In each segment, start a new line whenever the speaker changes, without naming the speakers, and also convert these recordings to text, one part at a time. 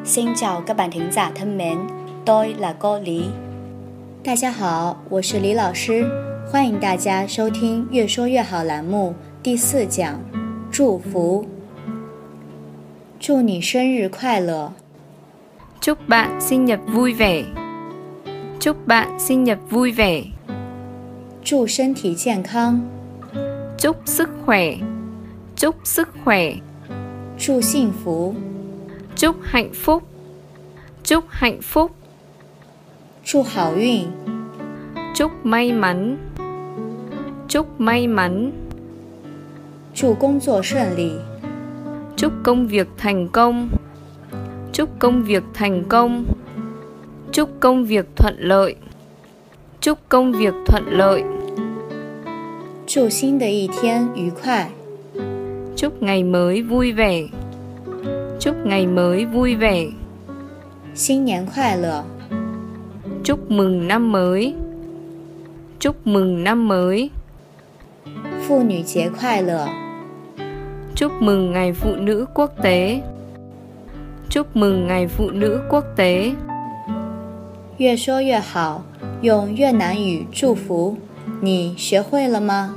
Xin chào các bạn thính giả thân mến, tôi là cô Lý。大家好，我是李老师，欢迎大家收听越说越好栏目第4讲，祝福。祝你生日快乐。
Chúc bạn sinh nhật vui vẻ. Chúc bạn sinh nhật vui vẻ.
祝身体健康。
Chúc sức khỏe. Chúc sức khỏe.
祝幸福。
Chúc hạnh phúc. Chúc hạnh phúc.
祝好运。
Chúc may mắn. Chúc may mắn.
祝工作顺利。
Chúc công việc thành công. Chúc công việc thành công. Chúc công việc thuận lợi. Chúc công việc thuận lợi.
祝新的一天愉快。
Chúc ngày mới vui vẻ. Chúc ngày mới vui vẻ.
新年快乐。
Chúc mừng năm mới. Chúc mừng năm mới.
妇女节快乐。
Chúc mừng ngày phụ nữ quốc tế. Chúc mừng ngày phụ nữ quốc tế.
越说越好，用越南语祝福，你学会了吗？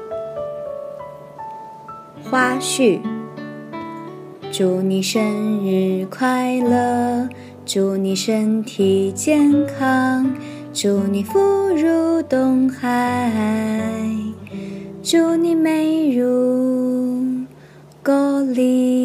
花絮。祝你生日快乐，祝你身体健康，祝你福如东海，祝你美如歌里。